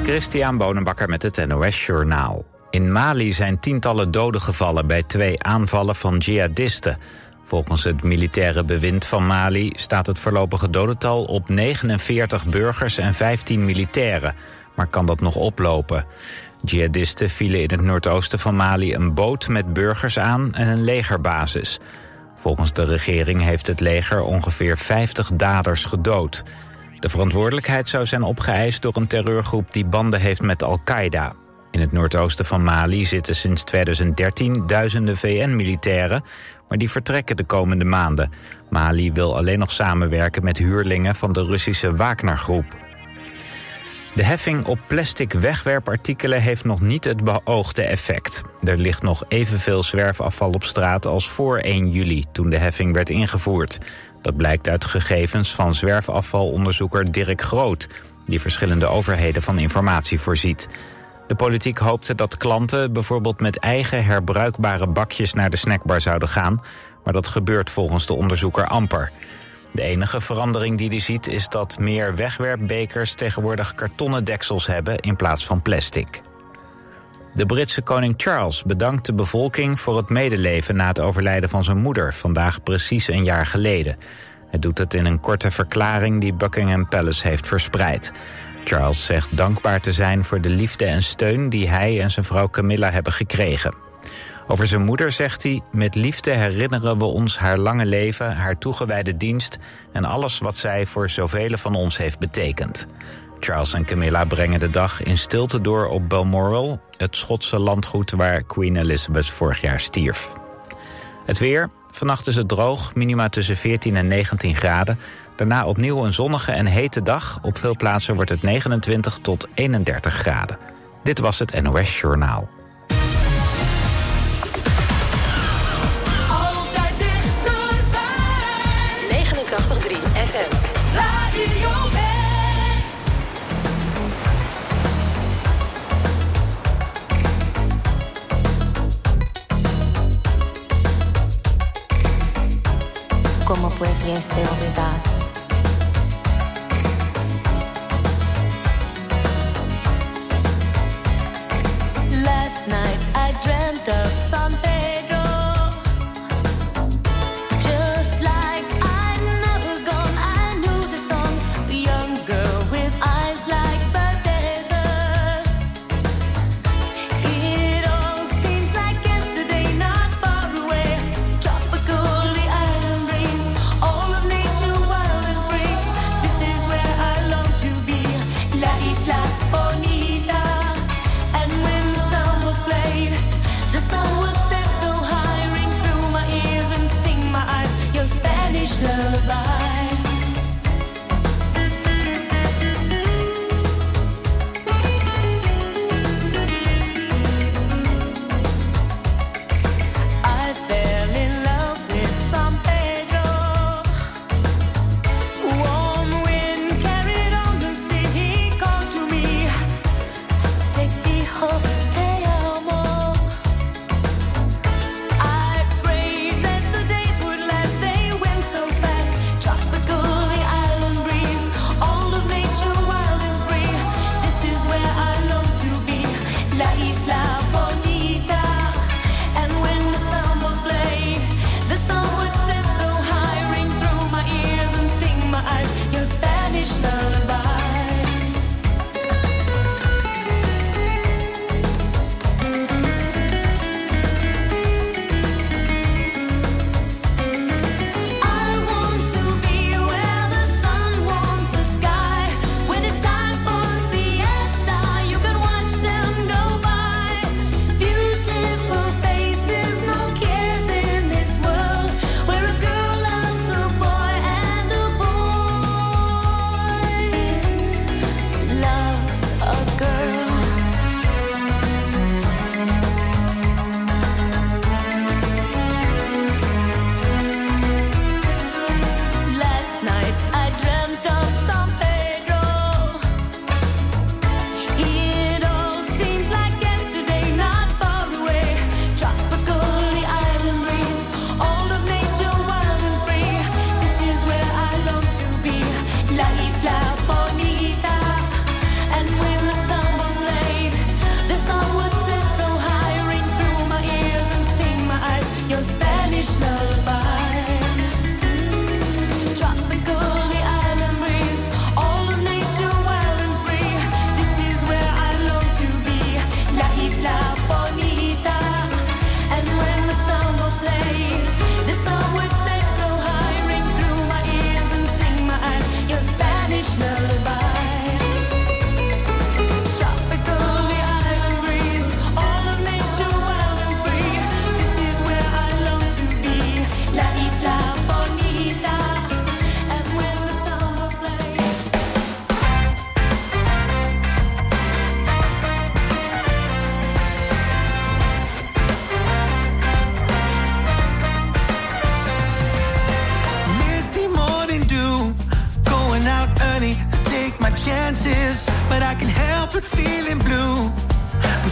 Christian Bonenbakker met het NOS Journaal. In Mali zijn tientallen doden gevallen bij 2 aanvallen van jihadisten. Volgens het militaire bewind van Mali staat het voorlopige dodental op 49 burgers en 15 militairen. Maar kan dat nog oplopen? Jihadisten vielen in het noordoosten van Mali een boot met burgers aan en een legerbasis. Volgens de regering heeft het leger ongeveer 50 daders gedood. De verantwoordelijkheid zou zijn opgeëist door een terreurgroep die banden heeft met Al-Qaeda. In het noordoosten van Mali zitten sinds 2013 duizenden VN-militairen, maar die vertrekken de komende maanden. Mali wil alleen nog samenwerken met huurlingen van de Russische Wagner-groep. De heffing op plastic wegwerpartikelen heeft nog niet het beoogde effect. Er ligt nog evenveel zwerfafval op straat als voor 1 juli, toen de heffing werd ingevoerd. Dat blijkt uit gegevens van zwerfafvalonderzoeker Dirk Groot, die verschillende overheden van informatie voorziet. De politiek hoopte dat klanten bijvoorbeeld met eigen herbruikbare bakjes naar de snackbar zouden gaan, maar dat gebeurt volgens de onderzoeker amper. De enige verandering die hij ziet is dat meer wegwerpbekers tegenwoordig kartonnen deksels hebben in plaats van plastic. De Britse koning Charles bedankt de bevolking voor het medeleven na het overlijden van zijn moeder, vandaag precies 1 jaar geleden. Hij doet het in een korte verklaring die Buckingham Palace heeft verspreid. Charles zegt dankbaar te zijn voor de liefde en steun die hij en zijn vrouw Camilla hebben gekregen. Over zijn moeder zegt hij: met liefde herinneren we ons haar lange leven, haar toegewijde dienst en alles wat zij voor zoveel van ons heeft betekend. Charles en Camilla brengen de dag in stilte door op Balmoral, het Schotse landgoed waar Queen Elizabeth vorig jaar stierf. Het weer. Vannacht is het droog, minima tussen 14 en 19 graden. Daarna opnieuw een zonnige en hete dag. Op veel plaatsen wordt het 29 tot 31 graden. Dit was het NOS Journaal. Altijd dichterbij. 89.3 FM. Radio West. ¿Cómo pudiese olvidar? Last night I dreamt of San Pedro. Just like I'd never gone, I knew the song. The young girl with eyes like the desert. It all seems like yesterday, not far away. Tropical, the island breeze, all of nature was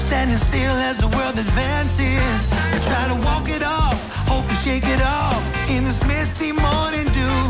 standing still as the world advances. I try to walk it off, hope to shake it off in this misty morning dew.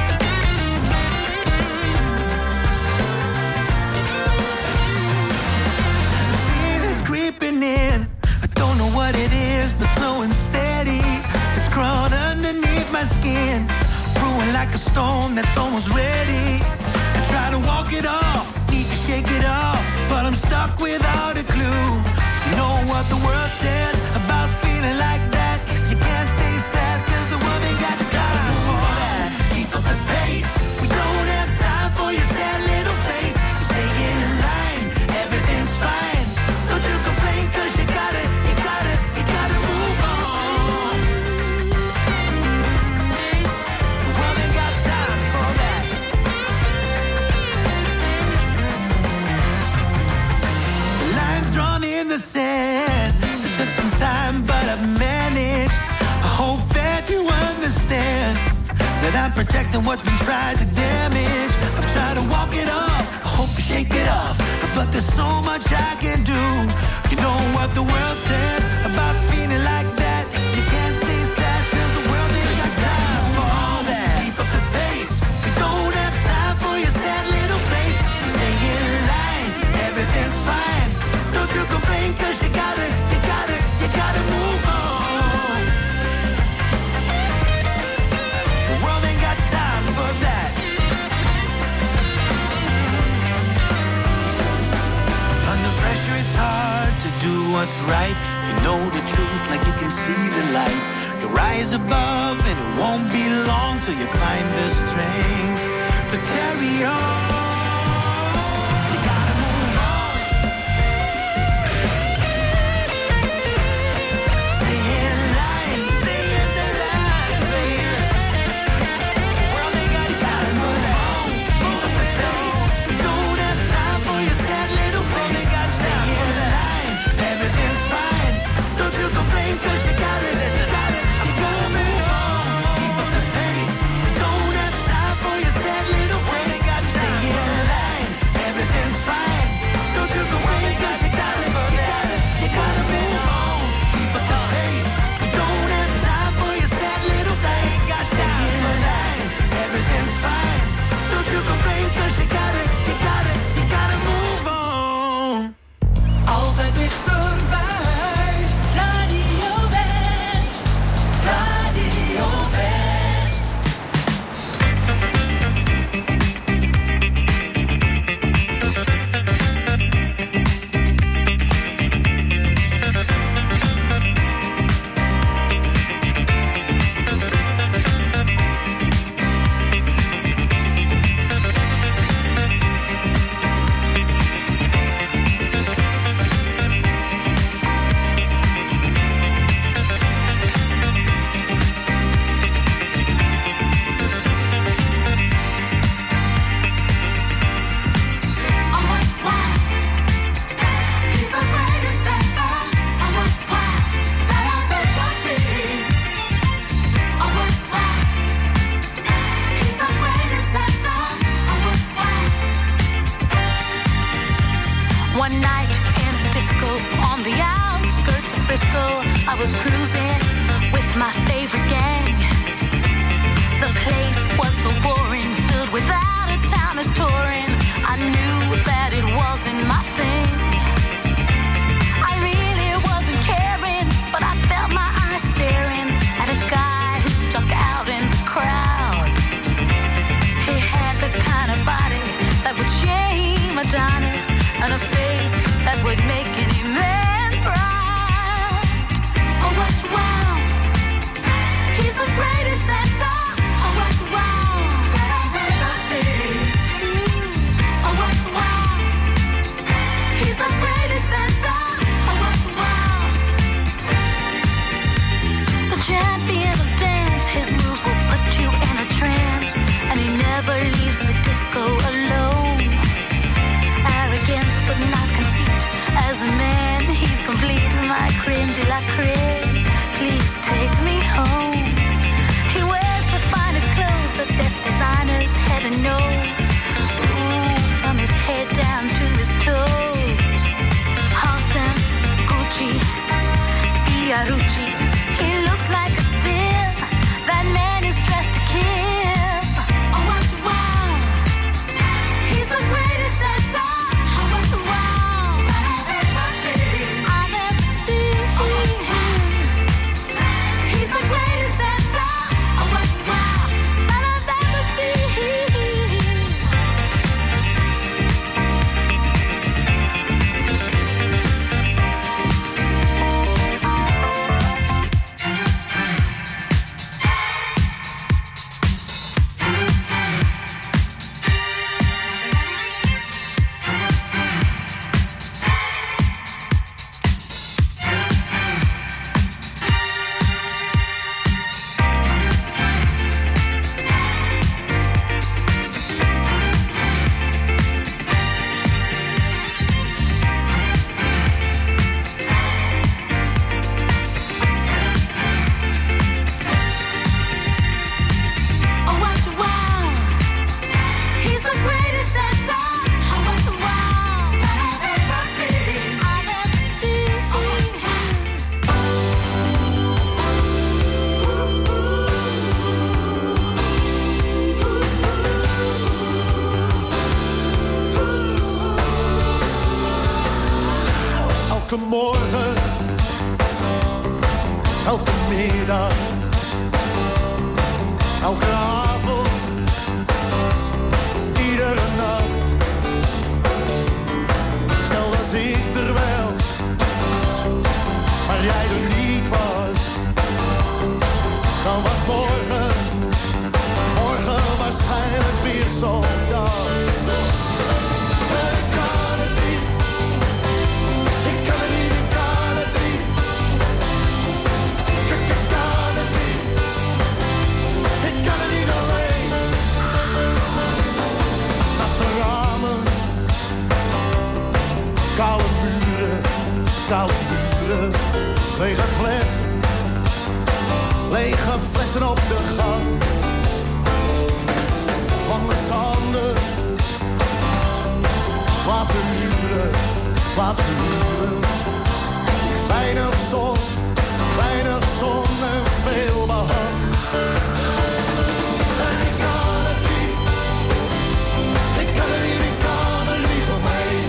The fear is creeping in. I don't know what it is, but slow and steady. It's crawled underneath my skin, brewing like a storm that's almost ready. I try to walk it off, need to shake it off, but I'm stuck without a clue. You know what the world says about feeling like that. You can't stay sad, cause the world ain't got time for that. Keep up the pace, we don't have time for your sad little face. Stay in line, everything's fine. Don't you complain, cause you gotta move on. The world ain't got time for that. The lines drawn in the sand. It took some time, but I've managed. I hope that you understand that I'm protecting what's been tried to damage. I've tried to walk it off, I hope to shake it off, but there's so much I can do. You know what the world says about feeling like that. You can't stay sad, cause the world ain't got time for all that. Keep up the pace, we don't have time for your sad little face. Stay in line, everything's fine. Don't you complain, cause you gotta move on. The world ain't got time for that. Under pressure it's hard to do what's right. You know the truth like you can see the light. You rise above and it won't be long till you find the strength to carry on. You gotta move on. Stay in line, stay in the line, baby. The world ain't got time to move on. Keep up the pace. We don't have time for your sad little face. Stay in line, everything's fine. Don't you complain, cause you gotta move on. Keep up the pace. We don't have time for your sad little face. Stay in line, everything's fine. Don't you complain, cause you gotta move on. Keep up the pace. We don't have time for your sad little face. Stay in line, everything's fine. Don't you complain, cause you gotta move on. Altijd dichterbij. Radio West, Radio West. He's the greatest dancer. That I've ever seen. He's the greatest dancer. One night in a disco on the outskirts of Frisco, I was cruising with my favorite gang. The place was so boring, filled with out-of-towners touring. I knew that it wasn't my thing. I really wasn't caring, but I felt my eyes staring at a guy who stuck out in the crowd. He had the kind of body that would shame Adonis, and a face that would make any man proud. Oh, what wow! He's the greatest dancer. Oh, what wow! That I've ever seen. Oh, what wow! He's the greatest dancer. Oh, what wow! The champion of dance, his moves will put you in a trance, and he never leaves the disco alone. Arrogance but not conceit. As a man, he's complete. My creme de la creme. Please take me home. He wears the finest clothes, the best designers, heaven knows. Ooh, from his head down to his toes. Halston, Elke morgen, elke middag, elke avond, iedere nacht. Stel dat ik er wel, maar jij er niet was. Dan was morgen waarschijnlijk weer zo'n dag. Koude muren, lege flessen op de gang. Lange tanden, laten huren. Weinig zon en veel behang. En ik kan het niet, ik kan er niet omheen.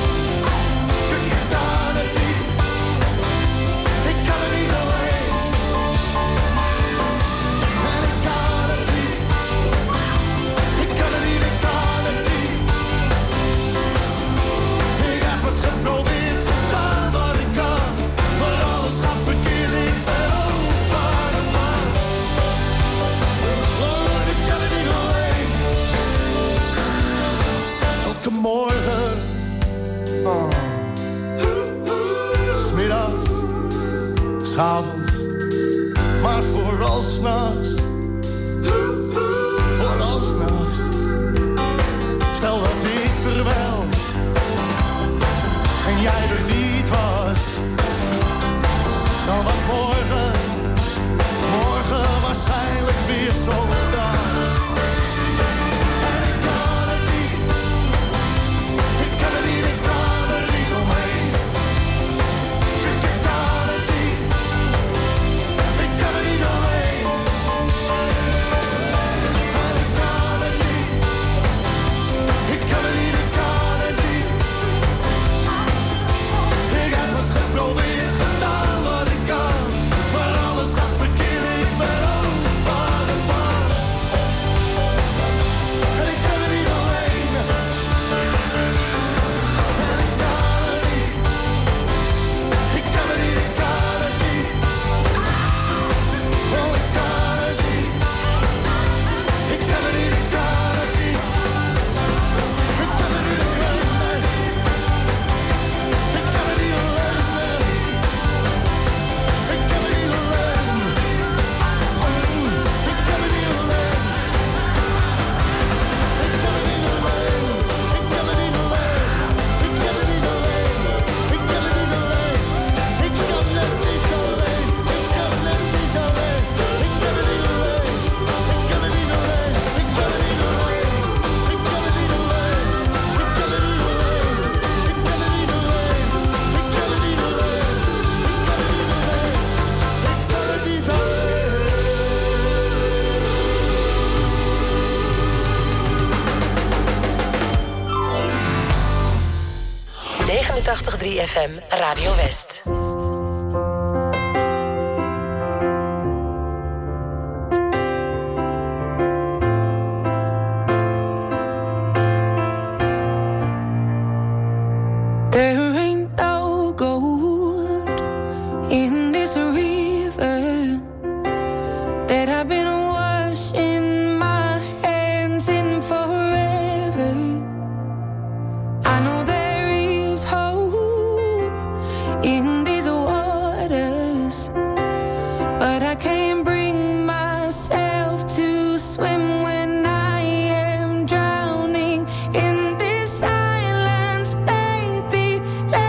Morgen, smiddags, s'avonds, maar vooral s'nachts. Stel dat ik er wel en jij er niet was. Dan was morgen waarschijnlijk weer zo'n dag. FM Radio West. Let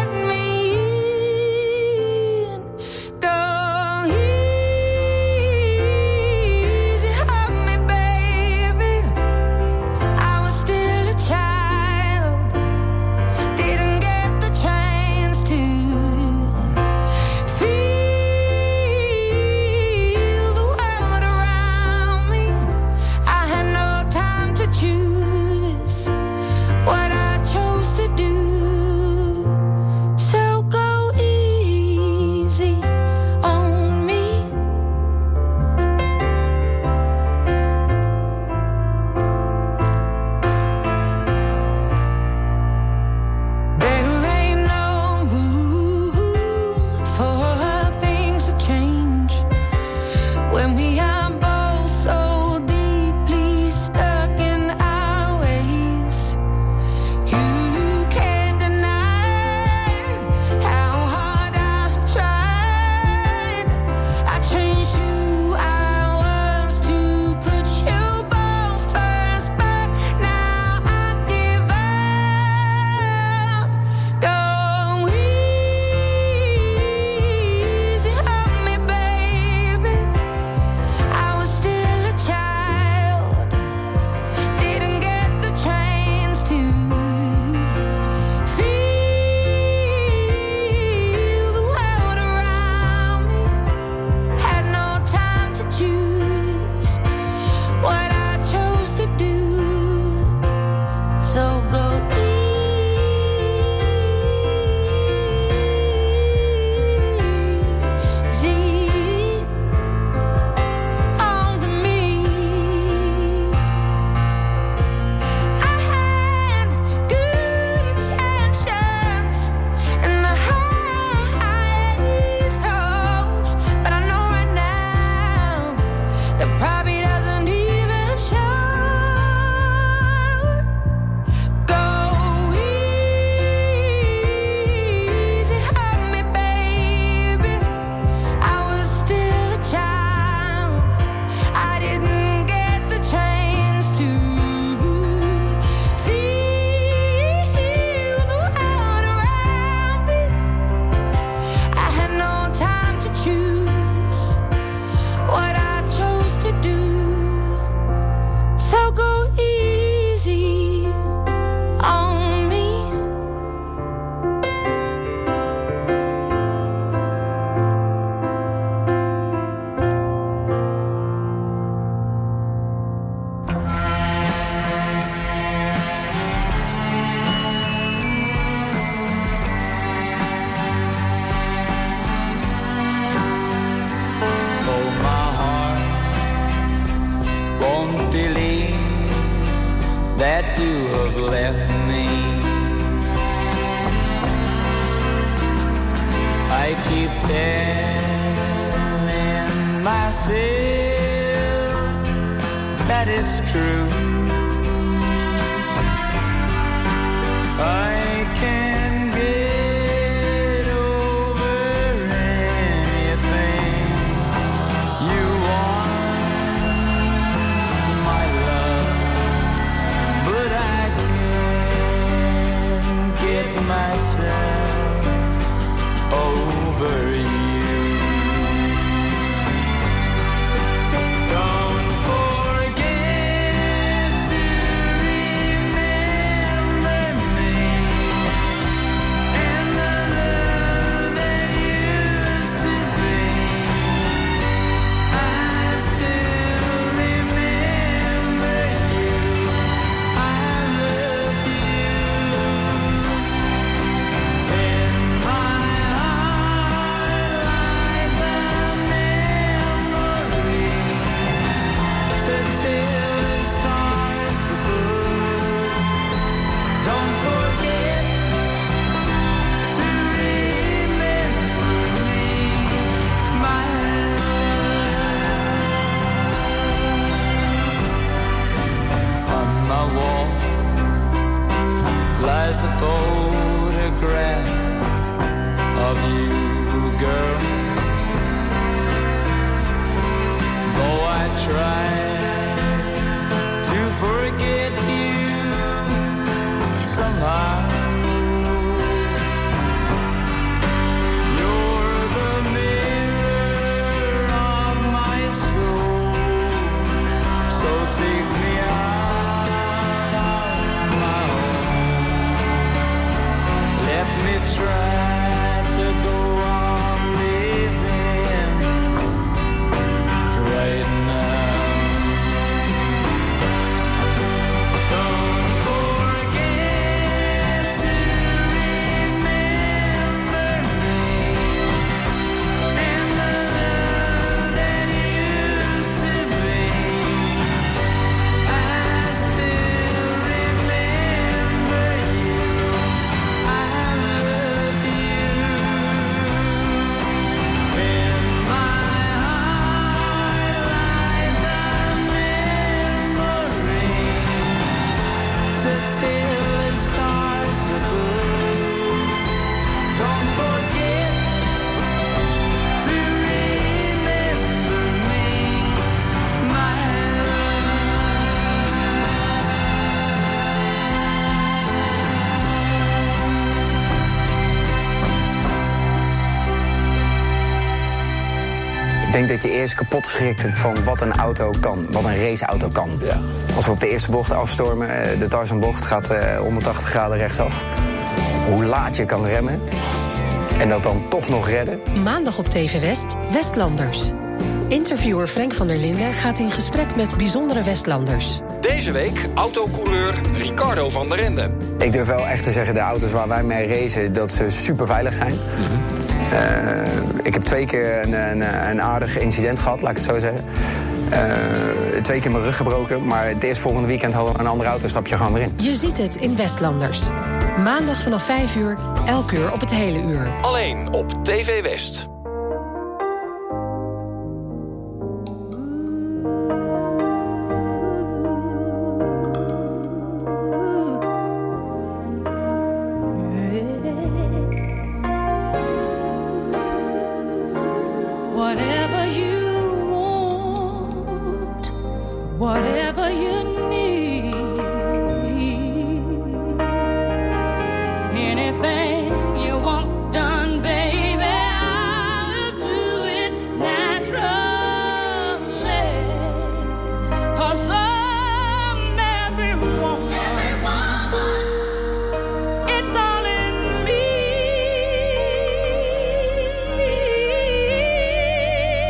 keep telling myself that it's true. I can get over anything you want, my love, but I can't get myself over you. Don't forget to remember me and the love that used to be. I still remember you. I love you. In my heart lies a memory to till the stars above. Don't forget to remember me, my love. On my wall lies a photograph of you, girl. Though I try to forget you somehow, you're the mirror of my soul. So take me out of my home. Let me try to go on living right now. Don't forget to remember me and the love that used to be. I still remember you. I love you. In my heart lies a memory to till the stars above. Don't forget to remember me, my Ik denk dat je eerst kapot schrikt van wat een auto kan, wat een raceauto kan. Ja. Als we op de eerste bocht afstormen, de Tarzanbocht gaat 180 graden rechtsaf. Hoe laat je kan remmen en dat dan toch nog redden. Maandag op TV West, Westlanders. Interviewer Frank van der Linden gaat in gesprek met bijzondere Westlanders. Deze week autocoureur Ricardo van der Ende. Ik durf wel echt te zeggen, de auto's waar wij mee racen, dat ze super veilig zijn. Ik heb 2 keer een aardig incident gehad, laat ik het zo zeggen. 2 keer mijn rug gebroken, maar het eerstvolgende weekend hadden we een andere auto, stap je gewoon weer in. Je ziet het in Westlanders. Maandag vanaf 5 uur, elk uur op het hele uur. Alleen op TV West. Whatever you want, whatever you need, anything you want done, baby, I'll do it naturally. 'Cause I'm every woman, it's all in me.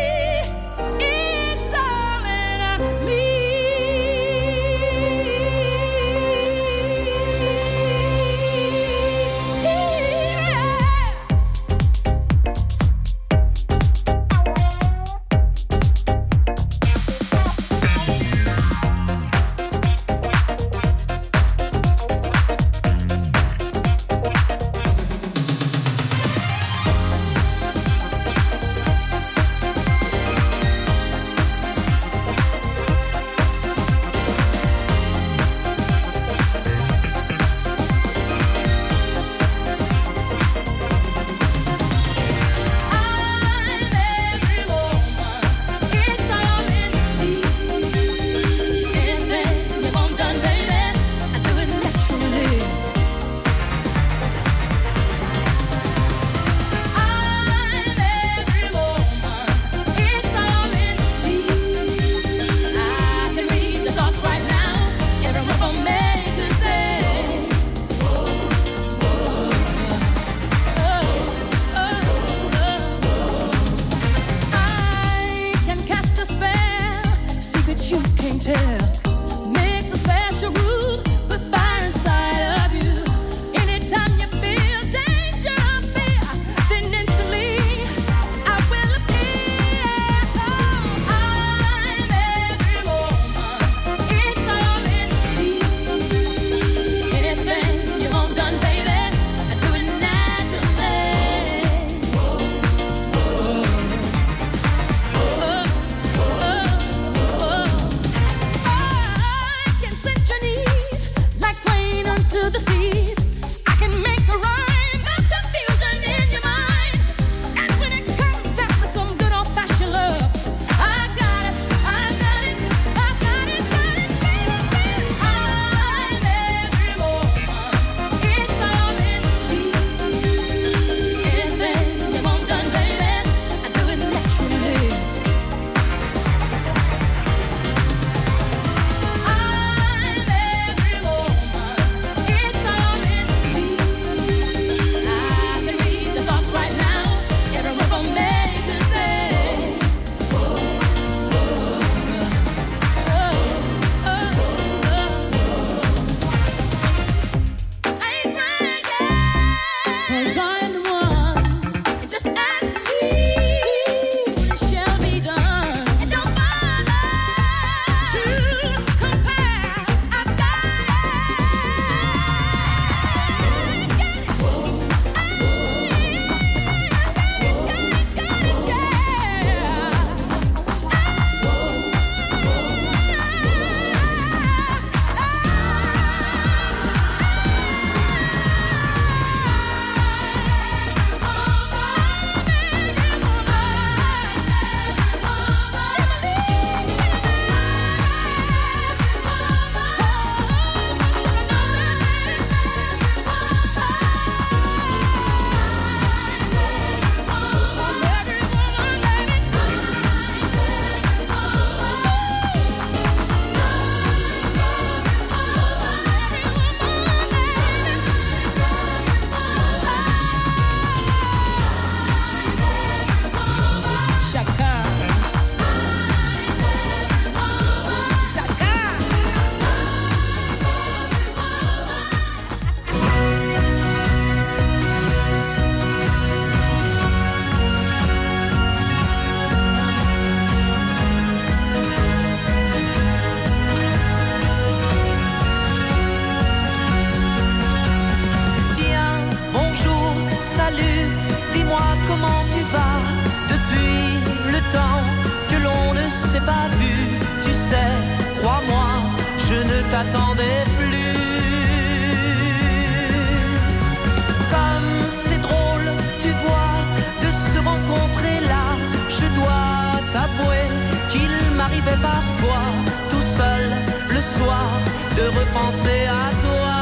penser à toi.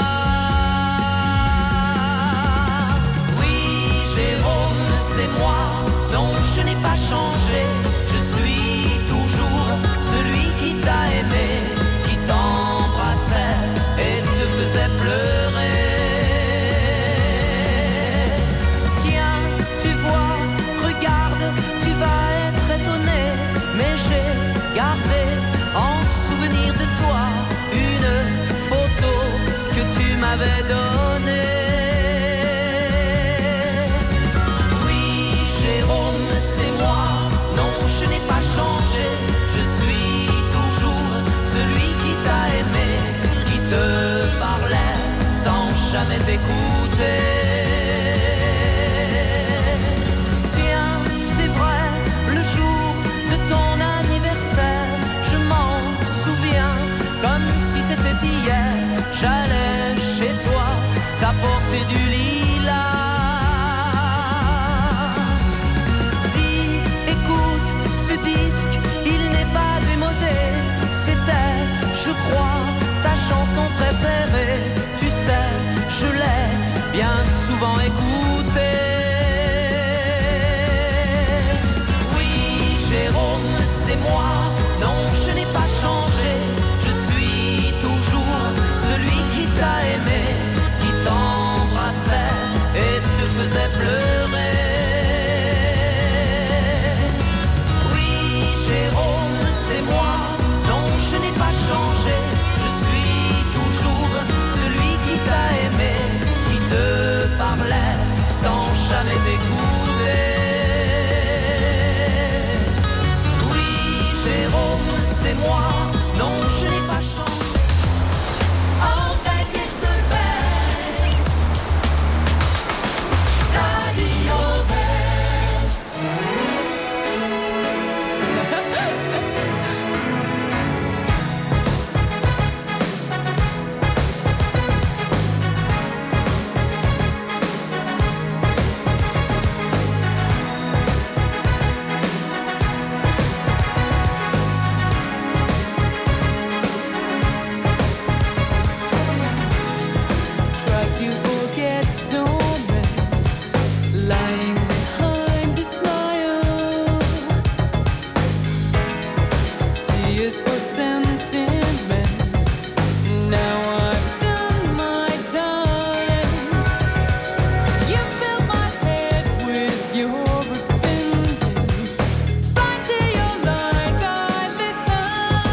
Oui, Jérôme, c'est moi, non, je n'ai pas changé. Je suis toujours celui qui t'a aimé, qui t'embrassait et te faisait pleurer. Tiens, tu vois, regarde, tu vas être étonné, mais j'ai gardé en souvenir de toi une photo que tu m'avais donnée. Oui, Jérôme, c'est moi, non, je n'ai pas changé. Je suis toujours celui qui t'a aimé, qui te parlait sans jamais t'écouter. Tiens, c'est vrai, le jour de ton anniversaire, je m'en souviens comme si c'était hier. J'allais chez toi t'apporter du lilas. Dis, écoute ce disque, il n'est pas démodé. C'était, je crois, ta chanson préférée. Tu sais, je l'ai bien souvent écoutée. Oui, Jérôme, c'est moi, non, je n'ai pas changé. Je suis toujours celui qui t'a aimé, qui t'embrassait et te faisait pleurer. Oui, Jérôme, c'est moi, non, je n'ai pas changé. Je suis toujours celui qui t'a aimé, qui te parlait sans jamais t'écouter. Oui, Jérôme, c'est moi, non, je n'ai pas changé. Altijd dichterbij. Radio West. Try to forget torment, lying behind a smile. Tears for sentiment. Now I've done my time. You fill my head with your opinions. Blind to your lies, I listen.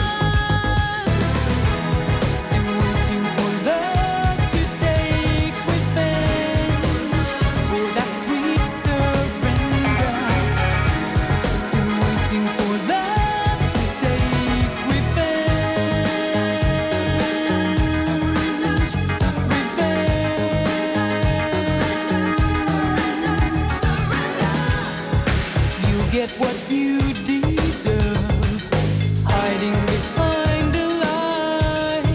Still waiting for love to take revenge with that sweet surrender. Still waiting for love to take revenge. You get what you deserve, hiding behind a lie.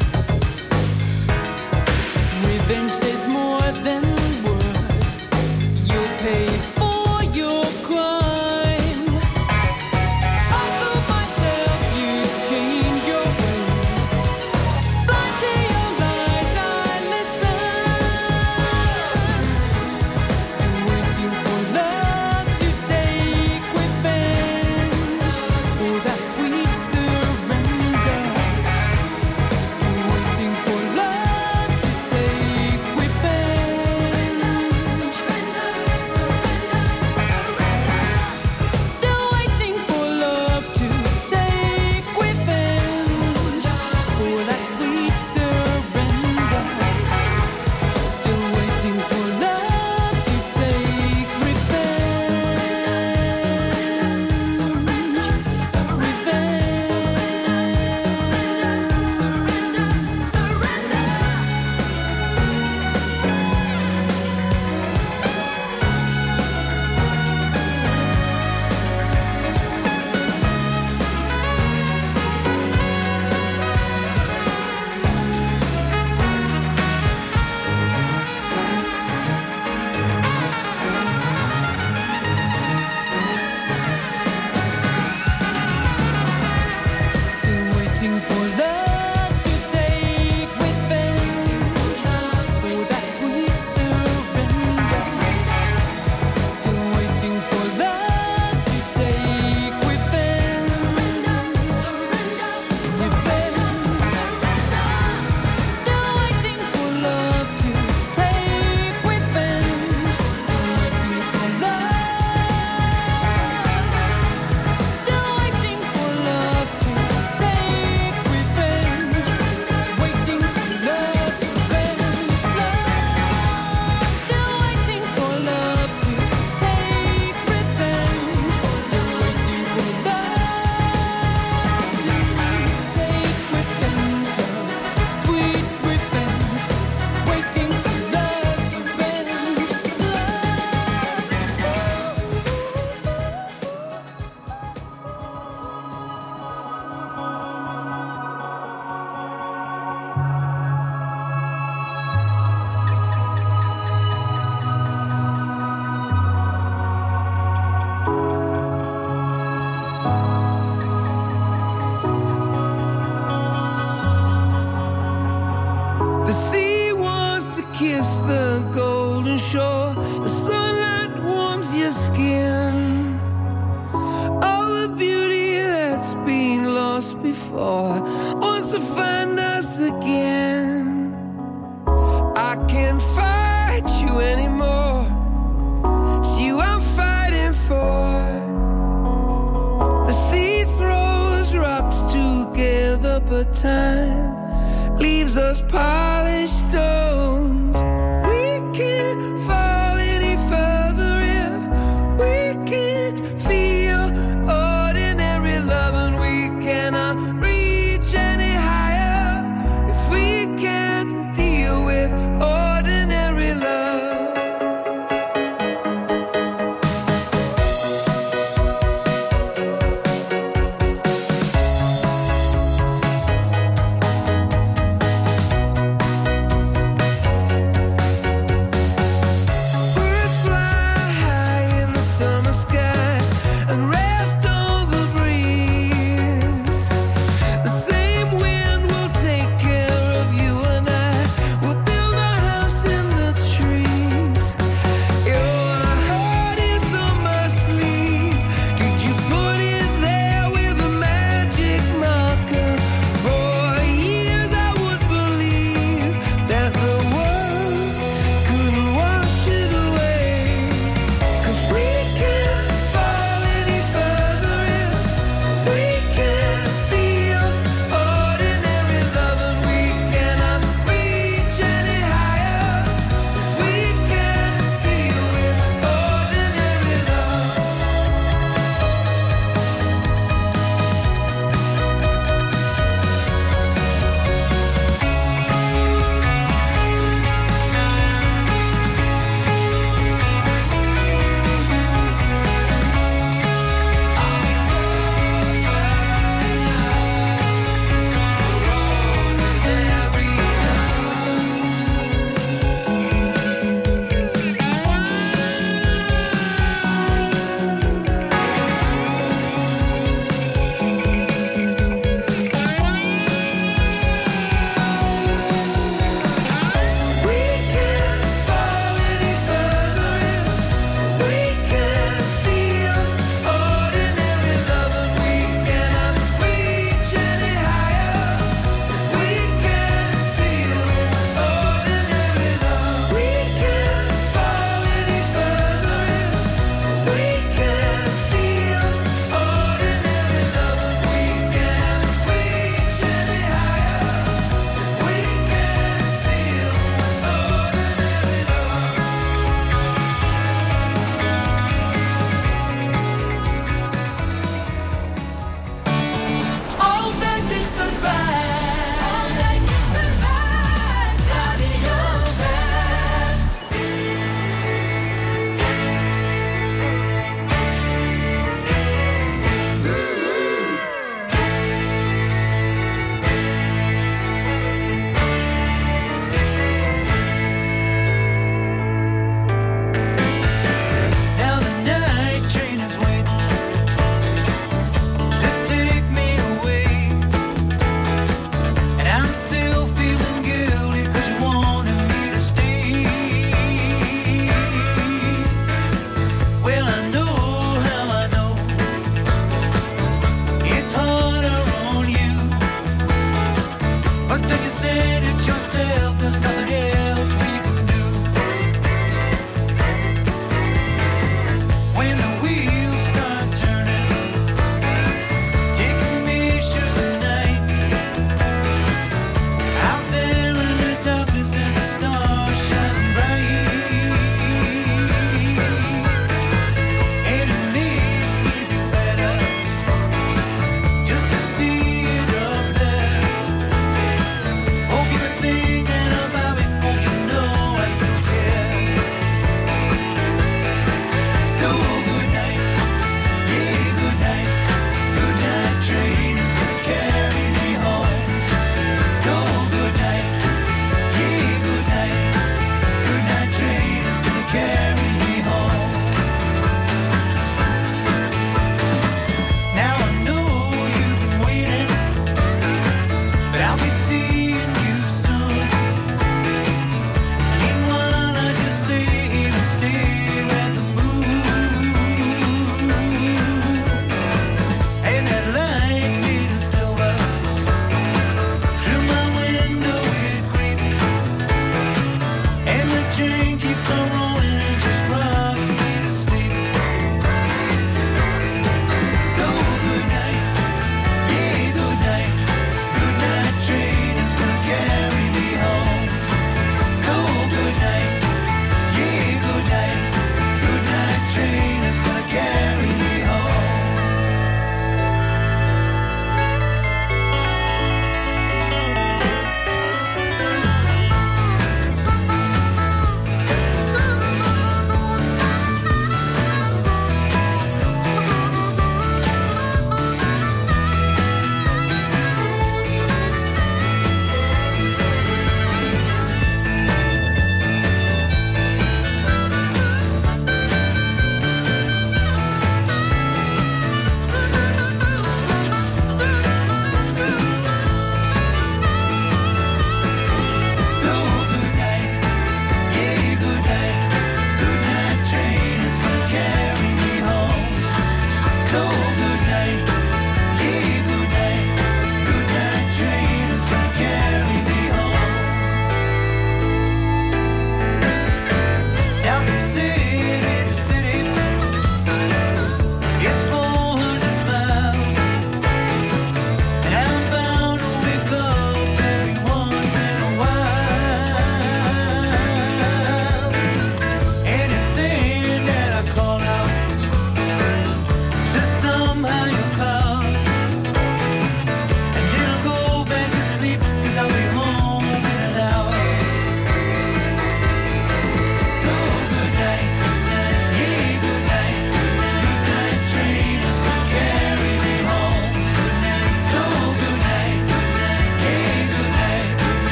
Revenge says more than words. You'll pay for your crime. I fool myself, you change your ways. Blind to your lies, I listen. Still waiting for love to take revenge. before wants to find us again. I can't fight you anymore. It's you I'm fighting for. The sea throws rocks together, but time leaves us polished stones. We can't fall any further if we can't feel ordinary love, and we cannot reach any higher if we can't deal with ordinary love.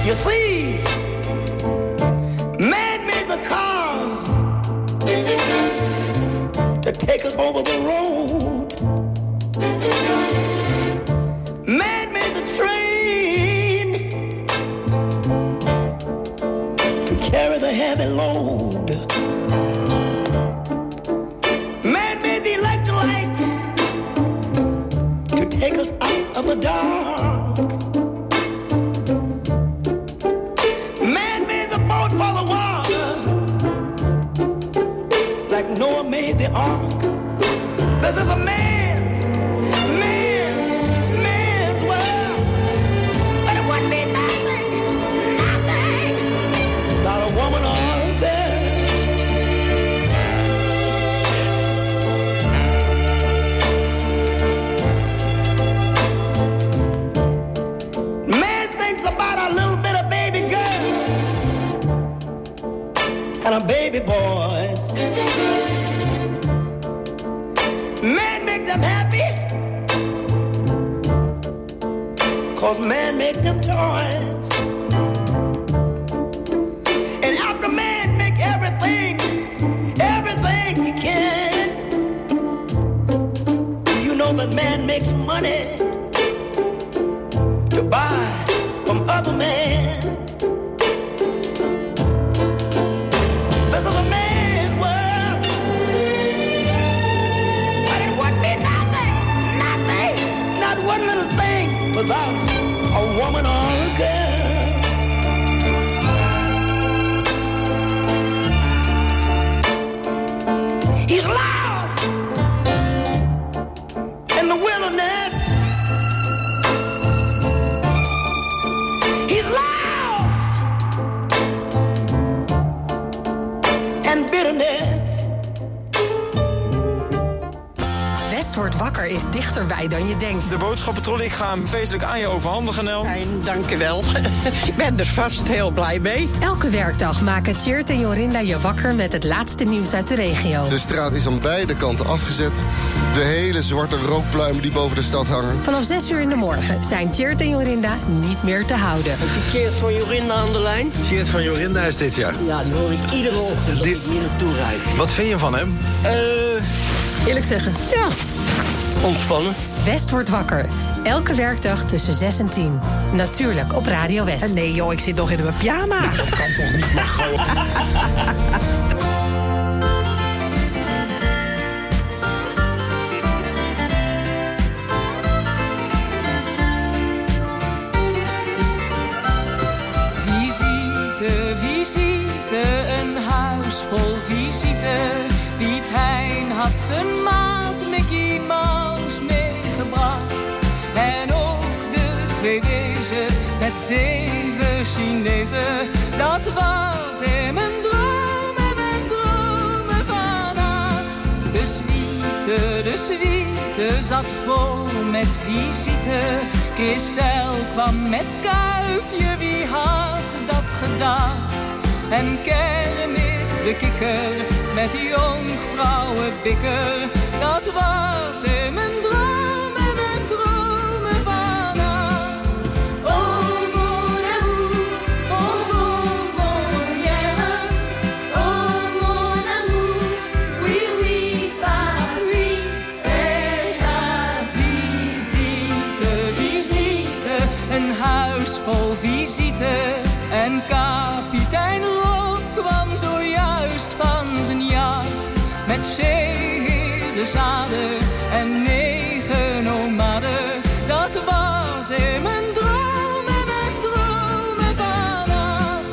You see, man made the cars to take us over the road. Man made the train to carry the heavy load. Man made the electric light to take us out of the dark. Man made the boat for the water, like Noah made the ark. This is a man's world. But it wouldn't be nothing without a woman or a girl. Man thinks about a little bit of baby girls and a baby boys. Man make them happy, 'cause man make them toys. And after man make everything he can, you know that man makes money to buy from other men. This is a man's world. But it wouldn't be nothing, not one little thing without a woman or a girl. He's lost in the wilderness. He's lost in bitterness. West wordt wakker is dichterbij dan je denkt. De boodschappentrolley, ik ga hem feestelijk aan je overhandigen, Nel. Fijn, dank je wel. Ik ben er vast heel blij mee. Elke werkdag maken Tjeerd en Jorinda je wakker met het laatste nieuws uit de regio. De straat is aan beide kanten afgezet. De hele zwarte rookpluimen die boven de stad hangen. Vanaf 6 uur in de morgen zijn Tjeerd en Jorinda niet meer te houden. Heb je Tjeerd van Jorinda aan de lijn? Tjeerd van Jorinda is dit jaar. Ja, dan hoor ik iedere ochtend dat ik hier naartoe rijd. Wat vind je van hem? Eerlijk zeggen, ja. Ontspannen. West wordt wakker. Elke werkdag tussen 6 en 10. Natuurlijk op Radio West. Nee joh, ik zit nog in mijn pyjama. Nou, dat kan toch niet, maar gewoon. Visite, visite, een huis vol visite. Piet Hein had zijn maat Mickey Mouse meegebracht. En ook de 2 wezen met 7 Chinezen. Dat was in mijn droom en mijn dromen vannacht. De suite zat vol met visite. Christel kwam met Kuifje, wie had dat gedacht? En Kermit de kikker met jonkvrouwenbikker. Dat was in mijn droom en mijn dromen vannacht. Oh mon amour, yeah. Oh mon amour, oui oui Paris, c'est la visite, visite, een huis vol visite. En kapitein Rob kwam zojuist van zijn jacht. Met zeeheerdezaden en 9 nomaden. Dat was in mijn droom en mijn dromen vannacht.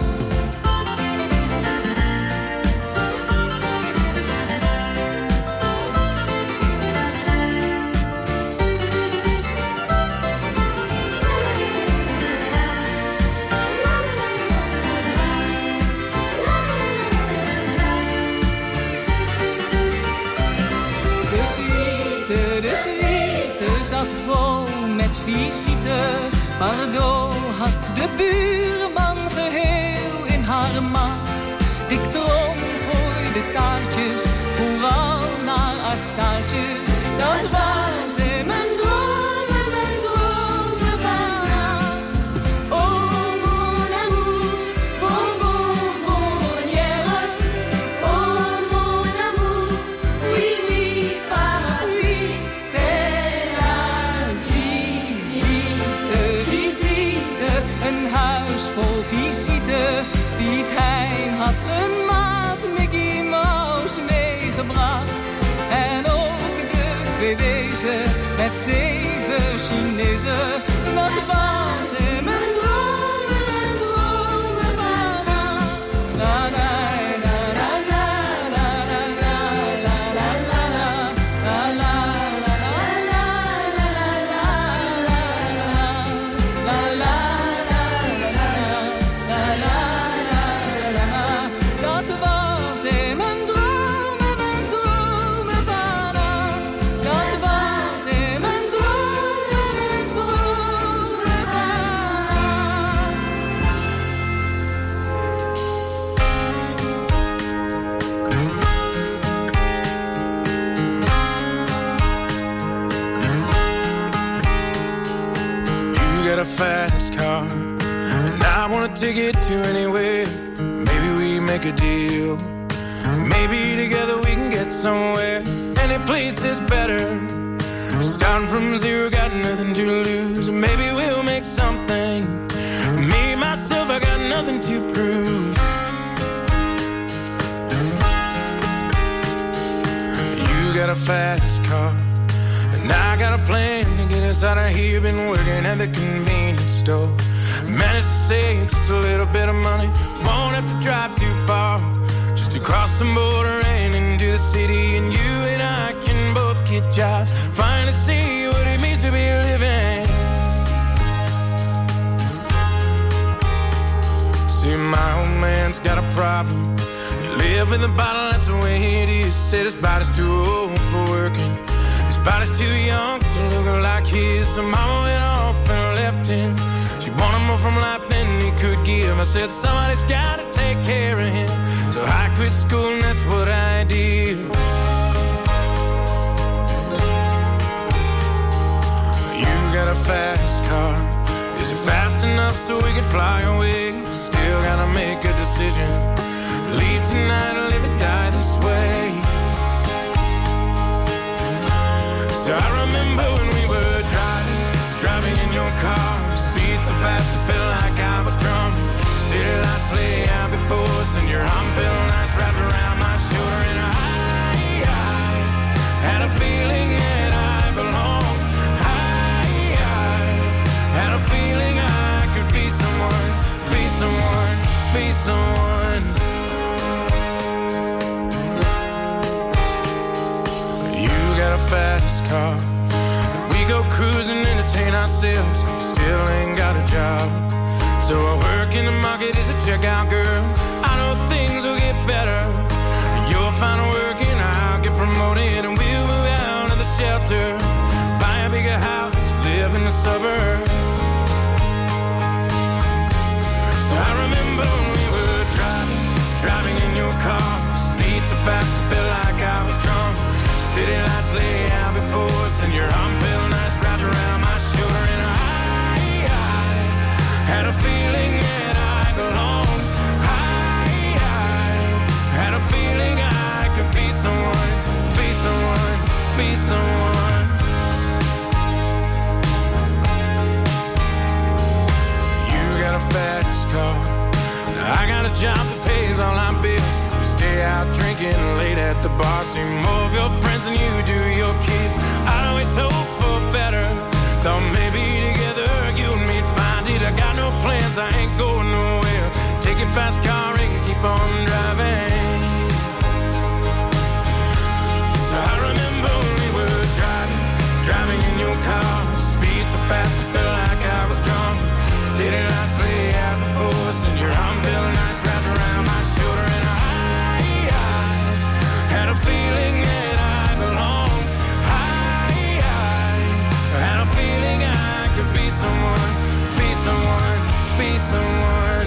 De suite zat vol met visite. Pardot had de buurman geheel in haar macht. Dik Trom gooide kaartjes, vooral naar aardstaartjes. Dat was in mijn dromen vannacht. Oh mon visite. Piet Hein had zijn maat Mickey Mouse meegebracht. En ook de 2 wezen met 7 Chinezen. Dat was in mijn dromen en dromen van na na. A fast car, and I wanna take it to anywhere. Maybe we make a deal. Maybe together we can get somewhere. Any place is better. Starting from zero, got nothing to lose. Maybe we'll make something. Me, myself, I got nothing to prove. You got a fast car, and I got a plan to get us out of here. Been working at the convenience store. Managed to save just a little bit of money. Won't have to drive too far, just to cross the border and into the city. And you and I can both get jobs. Finally see what it means to be living. See, my old man's got a problem. You live in the bottle, that's the way it is. Said his body's too old for working. Body's too young to look like his. So mama went off and left him. She wanted more from life than he could give. I said somebody's gotta take care of him. So I quit school and that's what I did. You got a fast car. Is it fast enough so we can fly away? Still gotta make a decision. Leave tonight or live or die this way. So I remember when we were driving in your car. Speed so fast it felt like I was drunk. City lights lay out before us, and your arm felt nice wrapped around my shoulder. And I had a feeling that I belonged. I had a feeling I could be someone, be someone, be someone. You got a fast car. We go cruising, entertain ourselves. We still ain't got a job. So I work in the market as a checkout girl. I know things will get better. You'll find work and I'll get promoted. And we'll move out of the shelter, buy a bigger house, live in the suburbs. So I remember when we were driving in your car. Speed so fast it felt like I was drunk. City lights lay out before us, and your arm felt nice wrapped around my shoulder. And I had a feeling that I belonged. I had a feeling I could be someone, be someone, be someone. You got a fast car. Now I got a job that pays all our bills. Stay out drinking late at the bar. See more of your friends than you do your kids. I'd always hope for better. Thought maybe together you and me'd find it. I got no plans, I ain't going nowhere. Take your fast car and keep on driving. So I remember when we were driving in your car. Speed so fast it felt like I was drunk. City lights lay out before us, and your arm felt nice wrapped around my shoulder. And I had a feeling that I belonged. I had a feeling I could be someone, be someone, be someone.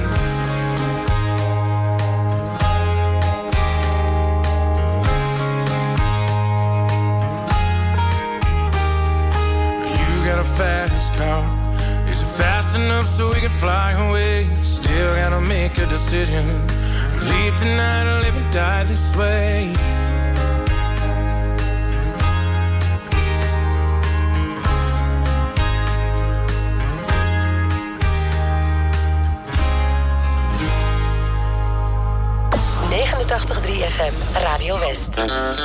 You got a fast car. Is it fast enough so we can fly away? Still gotta make a decision. Leave tonight or live and die this way. 89.3 FM, Radio West.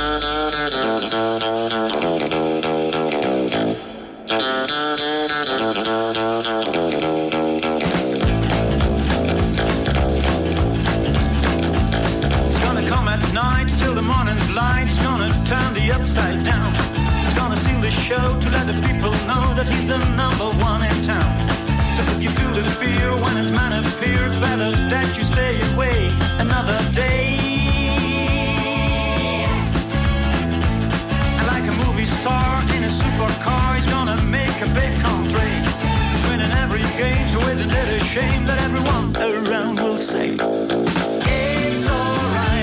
Till the morning's light, he's gonna turn the upside down. He's gonna steal the show to let the people know that he's the number one in town. So if you feel the fear when his man appears, better that you stay away another day. And like a movie star in a supercar, he's gonna make a big country. He's winning every game, so isn't it a shame that everyone around will say it's alright.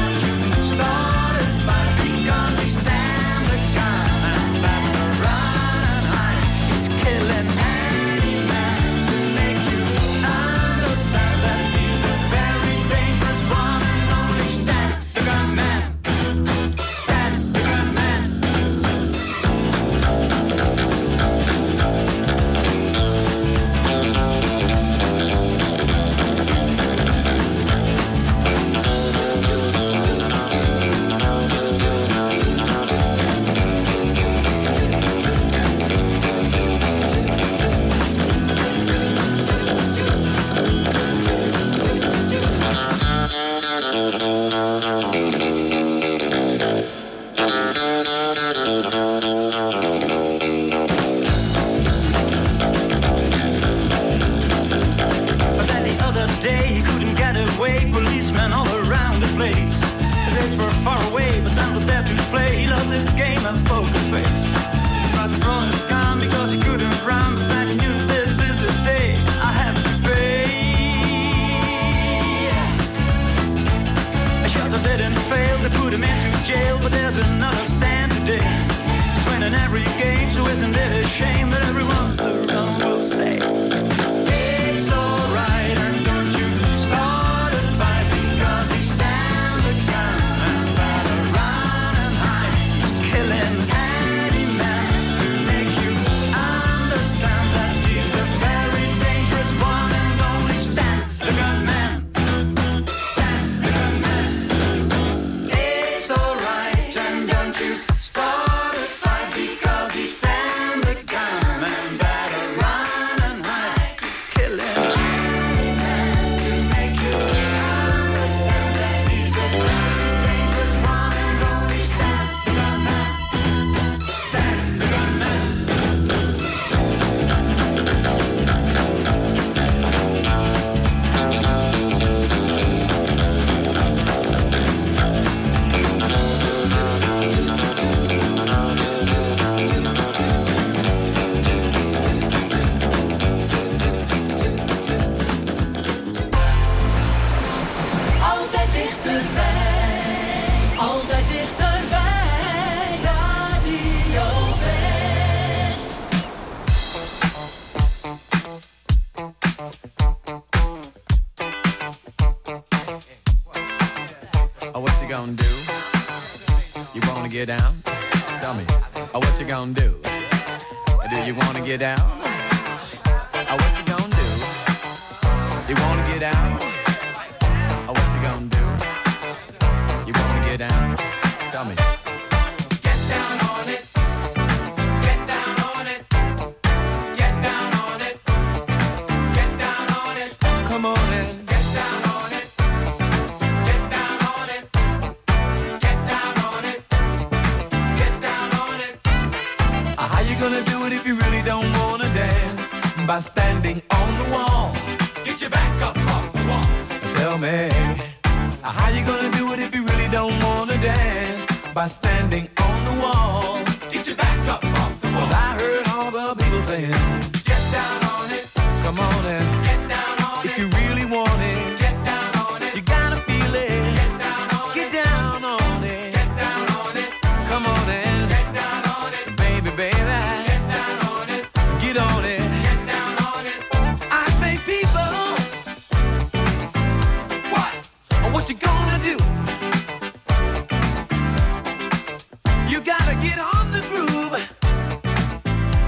get down? Tell me, what you gonna do? Do you wanna get down? What you gonna do? You wanna get out? What you gonna do? You wanna get down? Tell me. Get down on it. Get down on it. Get down on it. Get down on it. Come on in. Get down on it. Get down on it. Get down on it. Get down on it. How you gonna do it if you really don't wanna dance? By standing on the wall. Get your back up off the wall. Tell me, how you gonna do it if you really don't wanna dance? By standing on the wall. Get your back up off the wall. 'Cause I heard all the people saying, get down on it. Come on and get down on it. If you really want it, get down on it. You gotta feel it. Get down on it. Get down on it. Get down on it. Come on and get down on it. Baby, baby. Get down on it. Get on it. Get down on it. I say people. What you gonna do? You gotta get on the groove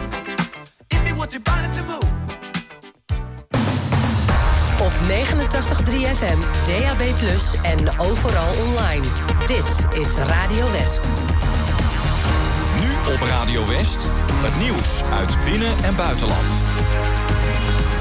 if you want your body to move. Op 89.3 FM, DAB+, en overal online. Dit is Radio West. Nu op Radio West, het nieuws uit binnen- en buitenland.